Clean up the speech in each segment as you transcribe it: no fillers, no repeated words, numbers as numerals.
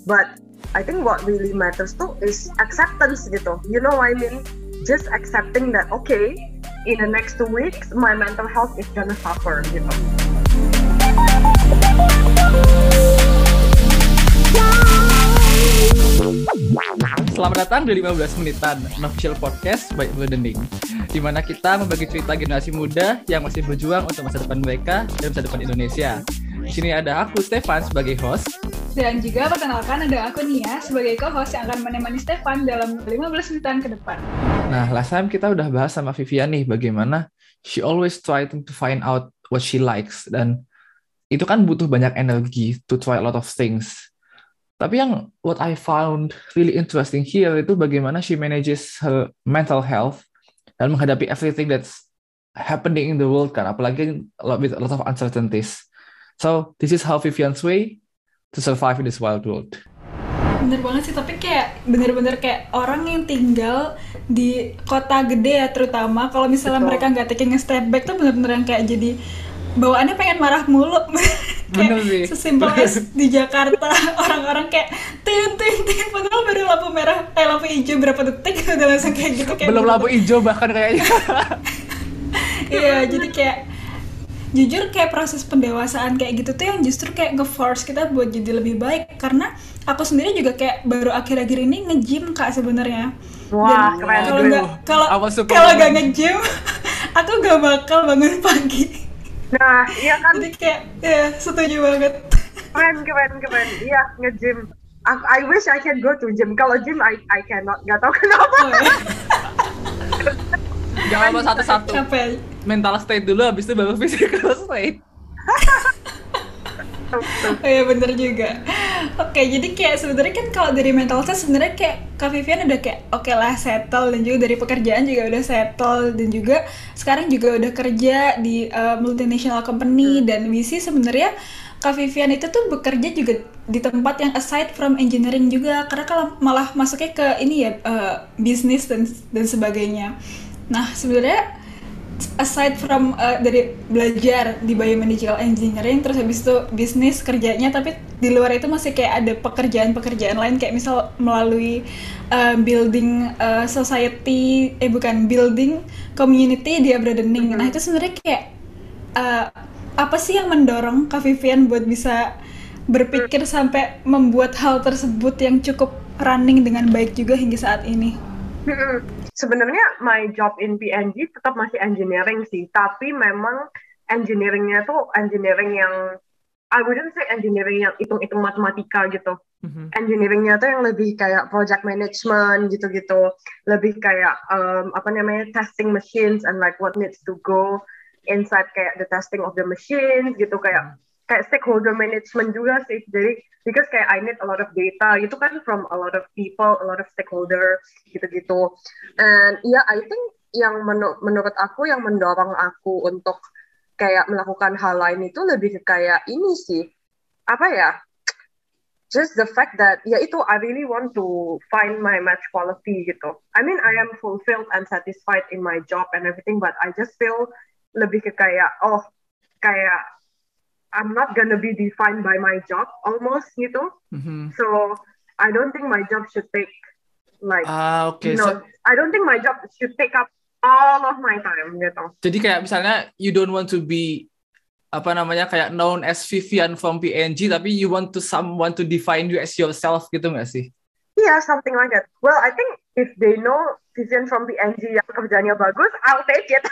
But I think what really matters too is acceptance gitu. You know what I mean? Just accepting that okay, in the next 2 weeks my mental health is gonna suffer gitu. Selamat datang di 15 menitan Unofficial Podcast by Blending, di mana kita membagi cerita generasi muda yang masih berjuang untuk masa depan mereka dan masa depan Indonesia. Di sini ada aku Stefan sebagai host, dan juga perkenalkan ada aku Nia sebagai co-host yang akan menemani Stefan dalam 15 menitan ke depan. Nah, last time kita udah bahas sama Vivian nih bagaimana she always trying to find out what she likes, dan itu kan butuh banyak energi to try a lot of things. Tapi yang what I found really interesting here itu bagaimana she manages her mental health dan menghadapi everything that's happening in the world kan, apalagi with a lot of uncertainties. So this is how Vivian's way to survive in this wild world. Bener banget sih, tapi kayak bener-bener kayak orang yang tinggal di kota gede ya, terutama kalau misalnya Betul. mereka nggak taking a step back tuh bener-bener yang kayak jadi bawaannya pengen marah mulu. Bener sih. Sesimpel es di Jakarta orang-orang kayak tin padahal baru lampu hijau berapa detik udah langsung kayak gitu, kayak belum lampu hijau bahkan kayaknya. Iya, jadi kayak jujur kayak proses pendewasaan kayak gitu tuh yang justru kayak nge-force kita buat jadi lebih baik. Karena aku sendiri juga kayak baru akhir-akhir ini nge-gym Kak sebenarnya. Wah, Dan keren. kalau nggak nge-gym aku gak bakal bangun pagi. Nah, iya kan, Jadi kayak ya setuju banget. keren. Iya, nge-gym. I wish I can go to gym. Kalau gym, I cannot. Gak tau kenapa. Oh, ya. Jangan lupa satu-satu. Capek. Mental state dulu, habis itu baru physical state. Oh ya, bener juga. Oke, jadi kayak sebenarnya kan kalau dari mental state sebenarnya kayak Kak Vivian udah kayak oke lah settle, dan juga dari pekerjaan juga udah settle, dan juga sekarang juga udah kerja di multinational company. Dan visi sebenarnya Kak Vivian itu tuh bekerja juga di tempat yang aside from engineering juga, karena kalau malah masuknya ke ini ya bisnis dan sebagainya. Nah sebenarnya aside from dari belajar di biomedical engineering terus habis itu bisnis kerjanya, tapi di luar itu masih kayak ada pekerjaan lain kayak misal melalui building society, building community di Broadening. Nah itu sebenarnya kayak apa sih yang mendorong Kak Vivian buat bisa berpikir sampai membuat hal tersebut yang cukup running dengan baik juga hingga saat ini? Sebenarnya my job in PNG tetap masih engineering sih, tapi memang engineeringnya tuh engineering yang I wouldn't say engineering yang hitung-hitung matematika gitu. Engineeringnya tuh yang lebih kayak project management gitu-gitu, lebih kayak testing machines and like what needs to go inside kayak the testing of the machines gitu, kayak stakeholder management juga sih. Jadi because kayak I need a lot of data gitu kan from a lot of people, a lot of stakeholder gitu-gitu. And yeah, I think yang menurut aku yang mendorong aku untuk kayak melakukan hal lain itu lebih ke kayak ini sih, apa ya, just the fact that ya itu I really want to find my match quality gitu. I mean I am fulfilled and satisfied in my job and everything, but I just feel lebih ke kayak kayak I'm not gonna be defined by my job almost gitu. So I don't think my job should take like I don't think my job should take up all of my time gitu. Jadi kayak misalnya you don't want to be kayak known as Vivian from PNG, tapi you want to someone to define you as yourself gitu nggak sih? Yeah, something like that. Well, I think if they know Vivian from PNG yang kerjanya bagus, I'll take it.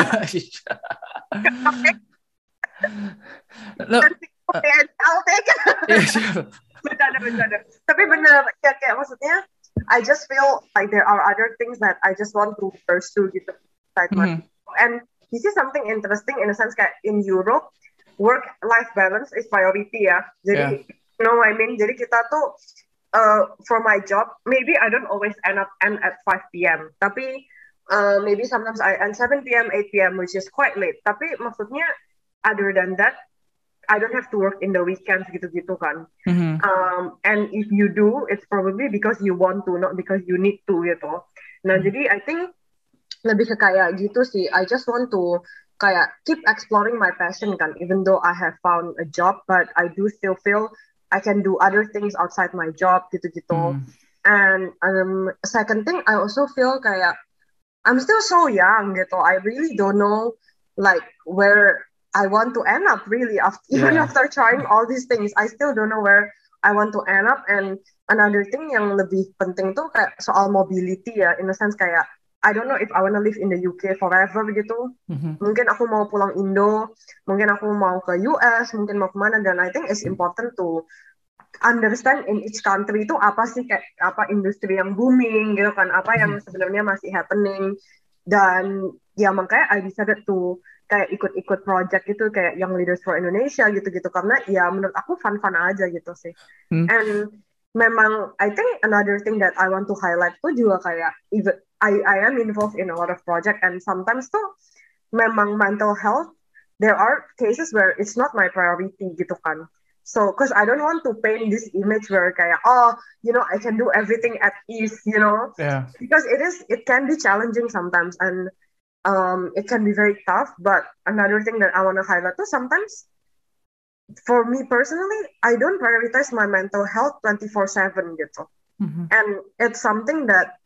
I'll take it. Yeah, sure. Bercanda. Tapi bener, kayak maksudnya I just feel like there are other things that I just want to pursue gitu. And this is something interesting in a sense kayak in Europe, work-life balance is priority ya. Jadi, you know what I mean? Jadi kita tuh, for my job, maybe I don't always end at 5 p.m. Tapi maybe sometimes I end 7 p.m., 8 p.m., which is quite late. Tapi maksudnya, other than that, I don't have to work in the weekends gitu-gitu kan. And if you do, it's probably because you want to, not because you need to gitu. Nah jadi I think lebih ke kayak gitu sih. I just want to kayak keep exploring my passion kan. Even though I have found a job, but I do still feel I can do other things outside my job gitu-gitu. And second thing, I also feel kayak I'm still so young gitu. I really don't know like where I want to end up really even after trying all these things. I still don't know where I want to end up. And another thing yang lebih penting tuh kayak soal mobility ya, in a sense kayak I don't know if I want to live in the UK forever gitu. Mungkin aku mau pulang Indo, mungkin aku mau ke US, mungkin mau kemana. Dan I think it's important to understand in each country itu apa sih kayak apa industri yang booming gitu kan, apa yang sebenarnya masih happening. Dan ya makanya I decided to kayak ikut-ikut project gitu kayak Young Leaders for Indonesia gitu-gitu, karena ya menurut aku fun-fun aja gitu sih. And memang I think another thing that I want to highlight tuh juga kayak even I am involved in a lot of project, and sometimes tuh memang mental health there are cases where it's not my priority gitu kan. So because I don't want to paint this image where kayak I can do everything at ease, because it can be challenging sometimes, and it can be very tough. But another thing that I want to highlight too, sometimes for me personally, I don't prioritize my mental health 24/7 gitu. And it's something that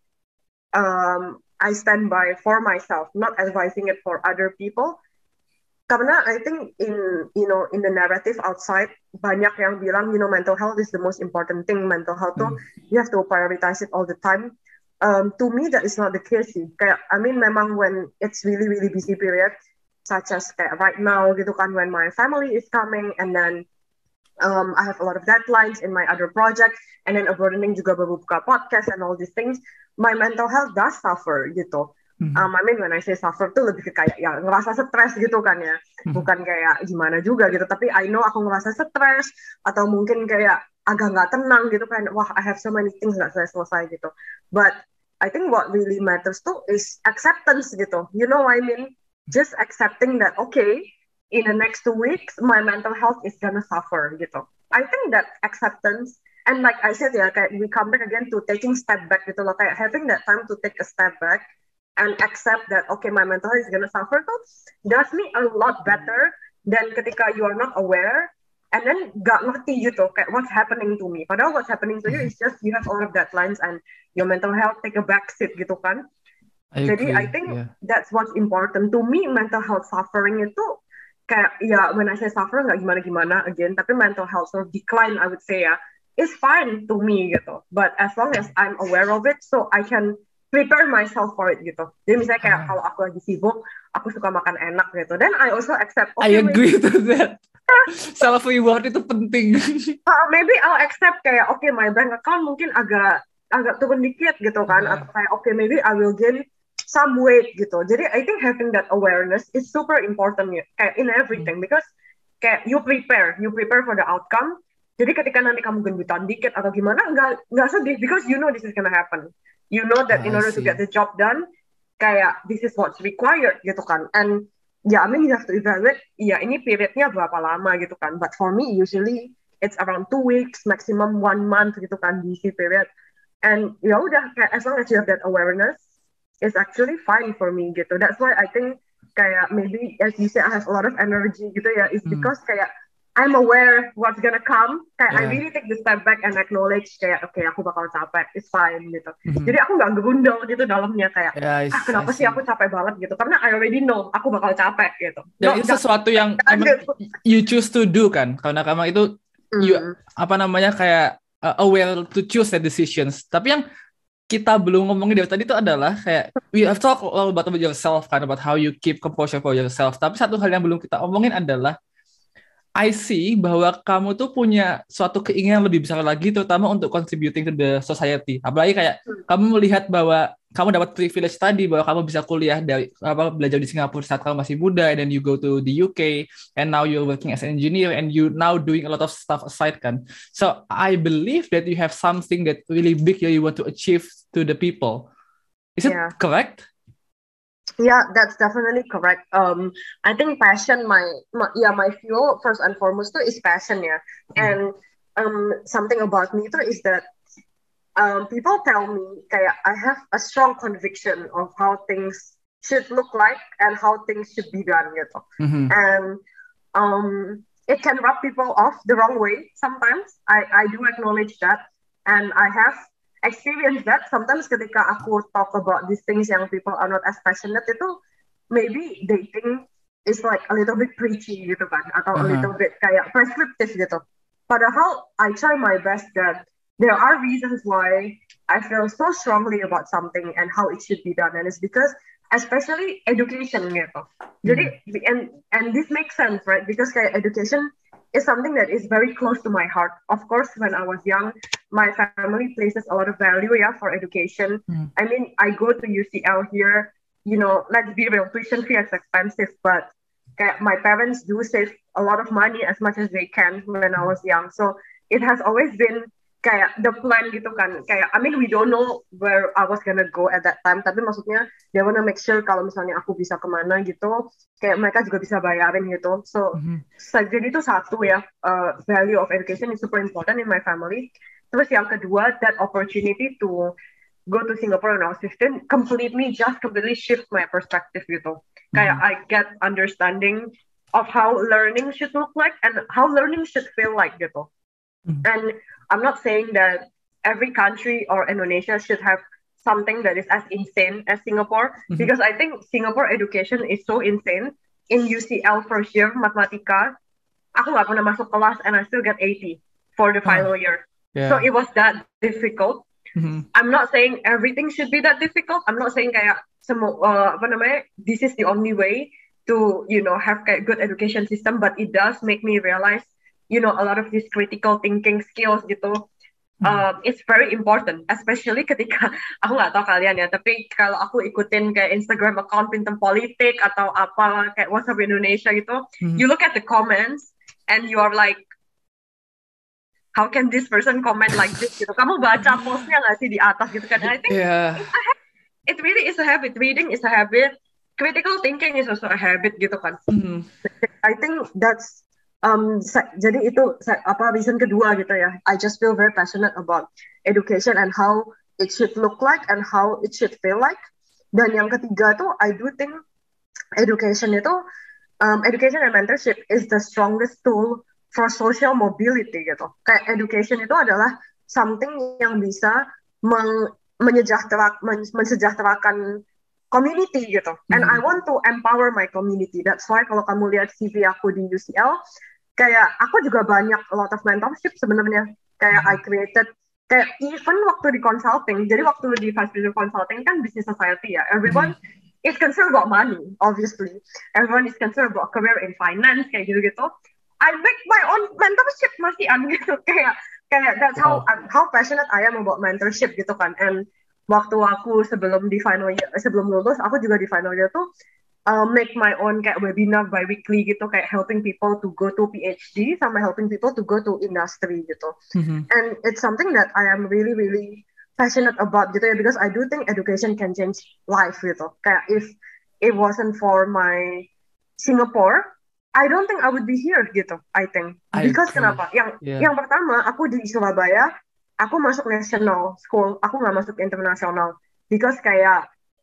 I stand by for myself, not advising it for other people. Karena I think in the narrative outside banyak yang bilang mental health is the most important thing. Mental health tuh you have to prioritize it all the time. To me that is not the case sih. Kayak memang when it's really really busy period, such as kayak right now gitu kan, when my family is coming, and then I have a lot of deadlines in my other project, and then Abroadening juga baru buka podcast and all these things, my mental health does suffer gitu. When I say suffer tuh lebih ke kayak ya ngerasa stres gitu kan ya, bukan kayak gimana juga gitu, tapi I know aku ngerasa stres atau mungkin kayak agak nggak tenang gitu kan, wah I have so many things nggak selesai gitu. But I think what really matters tuh is acceptance gitu, you know what I mean? Just accepting that okay, in the next 2 weeks my mental health is gonna suffer gitu. I think that acceptance, and like I said ya, kayak we come back again to taking step back gitu loh, kayak having that time to take a step back and accept that okay my mental health is gonna suffer tuh does me a lot better than ketika you are not aware and then gak ngerti gitu kayak what's happening to me, padahal what's happening to you is just you have all of deadlines and your mental health take a backseat gitu kan. Jadi I think that's what's important to me. Mental health suffering itu kayak ya when I say suffer nggak gimana-gimana again, tapi mental health sort of decline I would say ya is fine to me gitu, but as long as I'm aware of it so I can prepare myself for it gitu. Jadi misalnya kayak kalau aku lagi sibuk, aku suka makan enak gitu. Then I also accept. Okay, I agree to that. Self reward itu penting. Maybe I'll accept kayak okay my bank account mungkin agak turun dikit gitu kan, atau kayak okay maybe I will gain some weight gitu. Jadi I think having that awareness is super important ya, kayak in everything, because kayak you prepare for the outcome. Jadi ketika nanti kamu gendutan dikit atau gimana, nggak sedih, because you know this is gonna happen. You know that in order to get the job done, kayak this is what's required gitu kan. And yeah, you have to evaluate, ini periodnya berapa lama gitu kan. But for me, usually it's around 2 weeks, maximum 1 month gitu kan, busy period. And ya udah, kayak as long as you have that awareness, it's actually fine for me gitu. That's why I think kayak maybe as you say I have a lot of energy gitu ya, is because kayak I'm aware what's gonna come. Kayak I really take the step back and acknowledge kayak okay aku bakal capek, it's fine gitu. Jadi aku nggak gerundel gitu dalamnya kayak kenapa sih aku capek banget gitu, karena I already know aku bakal capek gitu. Dan itu sesuatu yang emang you choose to do kan, karena kamu itu you kayak aware to choose the decisions. Tapi yang kita belum ngomongin dari tadi itu adalah kayak we have talked all about yourself kan, about how you keep composure for yourself. Tapi satu hal yang belum kita omongin adalah I see bahwa kamu tuh punya suatu keinginan lebih besar lagi, terutama untuk contributing to the society. Apalagi kayak kamu melihat bahwa kamu dapat privilege tadi, bahwa kamu bisa kuliah belajar di Singapura saat kamu masih muda, and then you go to the UK, and now you're working as an engineer, and you now doing a lot of stuff aside kan. So I believe that you have something that really big that you want to achieve to the people. Is it correct? Yeah, that's definitely correct. I think passion, my fuel first and foremost too is passion ya. And something about me too is that people tell me kayak I have a strong conviction of how things should look like and how things should be done gitu. And it can rub people off the wrong way sometimes. I do acknowledge that, and I have experienced that. Sometimes ketika aku talk about these things yang people are not as passionate itu, maybe they think it's like a little bit preachy gitu kan, atau a little bit kayak prescriptive gitu. Padahal I try my best that there are reasons why I feel so strongly about something and how it should be done, and it's because especially education gitu. Jadi and this makes sense, right? Because kayak education is something that is very close to my heart. Of course, when I was young, my family places a lot of value for education. I mean, I go to UCL here. You know, let's be real, tuition fee is expensive, but kayak my parents do save a lot of money as much as they can when I was young. So it has always been kayak the plan gitu kan. Kayak, I mean, we don't know where I was gonna go at that time. Tapi maksudnya, they wanna make sure kalau misalnya aku bisa kemana gitu, kayak mereka juga bisa bayarin gitu. So, jadi itu satu ya, value of education is super important in my family. Terus yang kedua, that opportunity to go to Singapore when I was 15 completely shift my perspective gitu. Kayak I get understanding of how learning should look like and how learning should feel like gitu. And I'm not saying that every country or Indonesia should have something that is as insane as Singapore, because I think Singapore education is so insane. In UCL first year, matematika, aku nggak pernah masuk kelas and I still get 80 for the final year. Yeah. So it was that difficult. I'm not saying everything should be that difficult. I'm not saying kayak this is the only way to, you know, have kayak good education system, but it does make me realize, you know, a lot of these critical thinking skills gitu, it's very important, especially ketika, aku nggak tahu kalian ya, tapi kalau aku ikutin kayak Instagram account Pintem Politik atau apa, kayak WhatsApp Indonesia gitu, you look at the comments, and you are like, how can this person comment like this gitu, kamu baca postnya nggak sih di atas gitu kan, I think it really is a habit, reading is a habit, critical thinking is also a habit gitu kan. I think that's jadi itu reason kedua gitu ya. I just feel very passionate about education and how it should look like and how it should feel like. Dan yang ketiga tuh, I do think education itu, education and mentorship is the strongest tool for social mobility gitu. Kayak education itu adalah something yang bisa mensejahterakan community gitu. And I want to empower my community. That's why kalau kamu lihat CV aku di UCL, kayak aku juga banyak a lot of mentorship sebenarnya. Kayak I created, kayak even waktu di consulting, jadi waktu di Vice President Consulting kan business society ya, everyone is concerned about money, obviously. Everyone is concerned about career in finance, kayak gitu-gitu. I make my own mentorship masih gitu, kayak that's how passionate I am about mentorship gitu kan. And waktu aku sebelum lulus, aku juga di final year tuh make my own kayak webinar bi-weekly gitu, kayak helping people to go to PhD sama helping people to go to industry gitu. And it's something that I am really, really passionate about gitu ya, because I do think education can change life gitu. Kayak if it wasn't for my Singapore, I don't think I would be here gitu, I think. Because kenapa? Yang pertama, aku di Surabaya, aku masuk national school, aku nggak masuk internasional. Because kayak,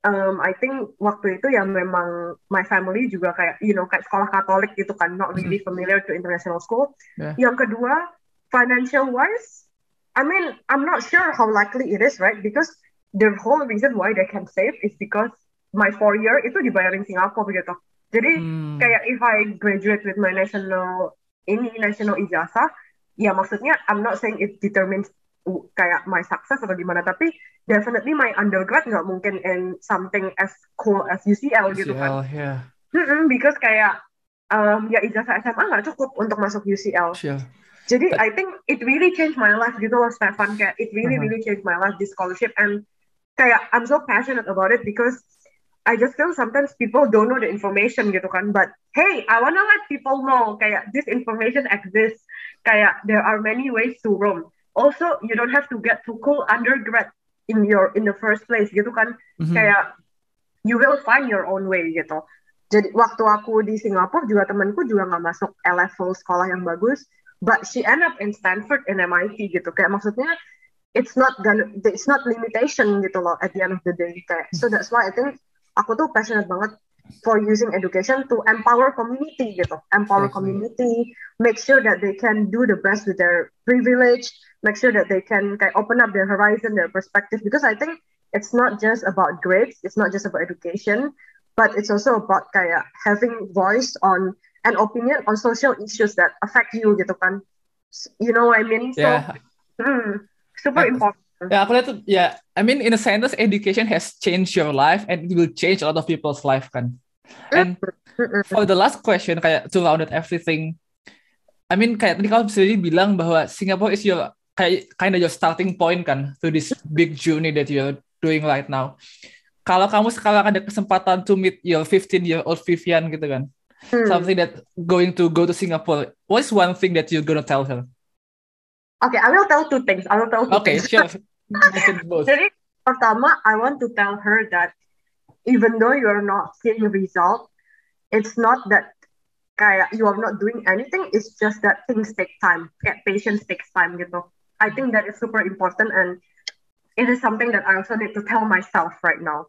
I think waktu itu ya memang my family juga kayak, you know, kayak sekolah Katolik gitu kan, not really familiar to international school. Yang kedua, financial wise, I mean, I'm not sure how likely it is, right? Because the whole reason why they can save is because my 4 year itu dibayarin Singapura gitu. Jadi kayak if I graduate with my national ijazah, ya maksudnya I'm not saying it determines kayak my success atau gimana, tapi definitely my undergrad nggak mungkin in something as cool as UCL gitu kan. Because kayak ya ijazah SMA nggak cukup untuk masuk UCL. Jadi I think it really changed my life gitu loh, Stefan. Kayak it really changed my life, this scholarship, and kayak I'm so passionate about it because I just feel sometimes people don't know the information gitu kan, but hey, I wanna let people know kayak this information exists, kayak there are many ways to roam. Also, you don't have to get too cool undergrad in the first place gitu kan, kayak you will find your own way gitu. Jadi waktu aku di Singapura juga temanku juga nggak masuk A-level sekolah yang bagus, but she end up in Stanford and MIT gitu. Kayak maksudnya it's not limitation gitu loh at the end of the day. Kayak, so that's why I think aku tuh passionate banget for using education to empower community gitu, empower Exactly. community, make sure that they can do the best with their privilege, make sure that they can kayak open up their horizon, their perspective, because I think it's not just about grades, it's not just about education, but it's also about kayak having voice on an opinion on social issues that affect you gitu kan, you know what I mean? So Yeah. super And- important. Ya, aku lihat tuh, ya, I mean, in a sentence, education has changed your life and it will change a lot of people's life, kan? And for the last question, kayak to round out everything, I mean, kayak tadi kamu sendiri bilang bahwa Singapore is your, kayak, kind of your starting point, kan, to this big journey that you're doing right now. Kalau kamu sekarang ada kesempatan to meet your 15-year-old Vivian, gitu kan, something that going to go to Singapore, what is one thing that you're gonna tell her? Okay, I will tell two things. Okay, sure. Mention both. Jadi pertama, I want to tell her that even though you're not seeing the result, it's not that kayak you are not doing anything. It's just that things take time. Kayak patience takes time gitu. I think that is super important, and it is something that I also need to tell myself right now.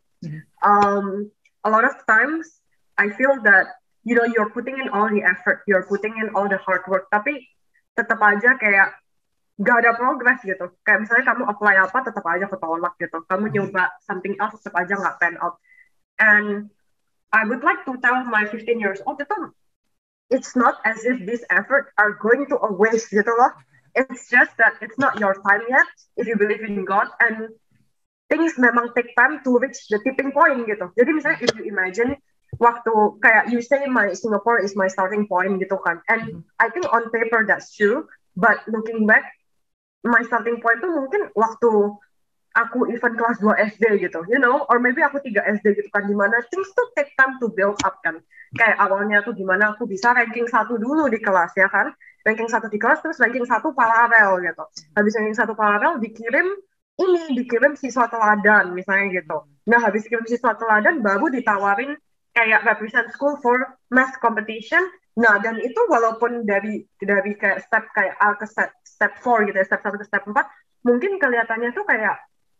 A lot of times I feel that you're putting in all the effort, you're putting in all the hard work, tapi tetap aja kayak gak ada progress gitu. Kayak misalnya kamu apply apa, tetap aja ketolak gitu. Kamu nyoba something else, tetap aja nggak pan out. And I would like to tell my 15 years old itu, it's not as if this effort are going to a waste gitu loh. It's just that it's not your time yet, if you believe in God, and things memang take time to reach the tipping point gitu. Jadi misalnya if you imagine, waktu kayak you say my Singapore is my starting point gitu kan. And I think on paper that's true, but looking back, my starting point tuh mungkin waktu aku even kelas 2 SD gitu, or maybe aku 3 SD gitu kan, dimana things tuh take time to build up kan. Kayak awalnya tuh gimana aku bisa ranking 1 dulu di kelas ya kan, ranking 1 di kelas, terus ranking 1 paralel gitu. Habis ranking 1 paralel dikirim siswa teladan misalnya gitu. Nah habis dikirim siswa teladan baru ditawarin kayak represent school for math competition. Nah, dan itu walaupun dari kayak step kayak A ke step 4 gitu ya, step 1 ke step 4, mungkin kelihatannya tuh kayak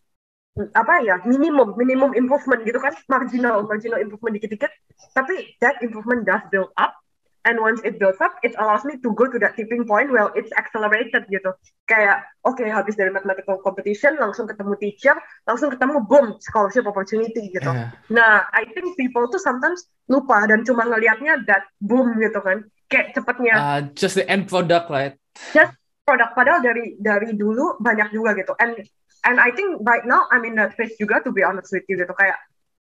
minimum improvement gitu kan, marginal improvement dikit-dikit, tapi that improvement does build up, and once it builds up, it allows me to go to that tipping point where it's accelerated gitu. Kayak, okay, habis dari mathematical competition, langsung ketemu teacher, langsung ketemu, boom, scholarship opportunity gitu. Yeah. Nah, I think people tuh sometimes lupa dan cuma ngelihatnya that boom gitu kan, kayak cepetnya. Just the end product, right? Just produk, padahal dari dulu banyak juga gitu. And I think right now I'm in that phase juga, to be honest with you gitu, kayak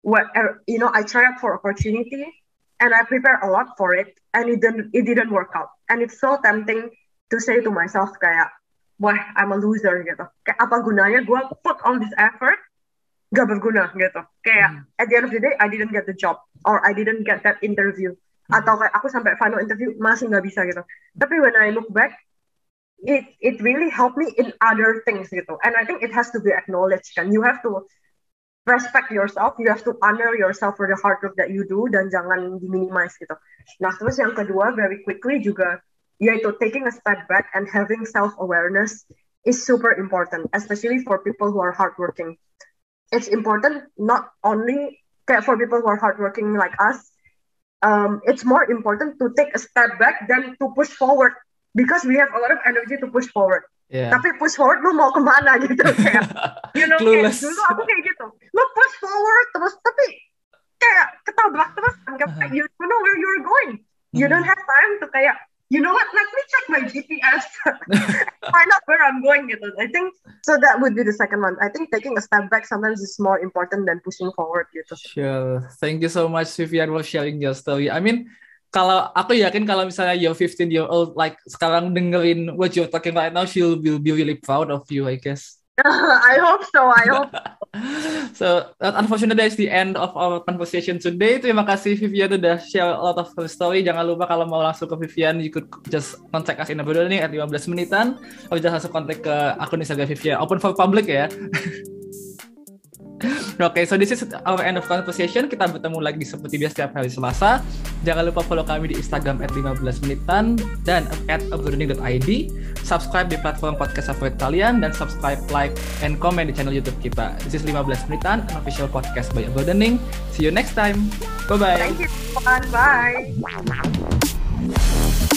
I try out for opportunity and I prepare a lot for it, and it didn't work out, and it's so tempting to say to myself kayak, wah, I'm a loser gitu, kayak apa gunanya gue put all this effort, gak berguna gitu, kayak at the end of the day I didn't get the job, or I didn't get that interview, atau kayak aku sampai final interview masih gak bisa gitu. Tapi when I look back, it really helped me in other things gitu, and I think it has to be acknowledged kan. You have to respect yourself, you have to honor yourself for the hard work that you do, dan jangan diminimize gitu. Nah terus yang kedua, very quickly juga, yaitu taking a step back and having self-awareness is super important, especially for people who are hardworking. It's important not only for people who are hardworking like us, it's more important to take a step back than to push forward, because we have a lot of energy to push forward. Yeah. Tapi push forward lu mau kemana gitu kayak, kayak dulu aku kayak gitu, lu push forward terus tapi kayak ketabrak terus, kayak you don't know where you're going, you don't have time to kayak, you know what, let me check my GPS, find out where I'm going gitu. I think so that would be the second one. I think taking a step back sometimes is more important than pushing forward gitu. Sure, thank you so much Vivian for sharing your story. I mean, kalau aku yakin kalau misalnya your 15-year-old like sekarang dengerin what you're talking right now, she will be really proud of you, I guess. I hope so. So unfortunately that's the end of our conversation today. Terima kasih Vivian udah share a lot of her story. Jangan lupa kalau mau langsung ke Vivian, you could just contact us in the video nih at 15 menitan, atau just langsung kontak ke akun Instagram Vivian, open for public ya. Okay, so this is our end of conversation. Kita bertemu lagi seperti biasa setiap hari Selasa. Jangan lupa follow kami di Instagram @15menitan dan @uploading.id. Subscribe di platform podcast favorit kalian dan subscribe, like, and comment di channel YouTube kita. This is 15 Menitan, an official podcast by Uploading. See you next time. Bye-bye. Thank you. Bye.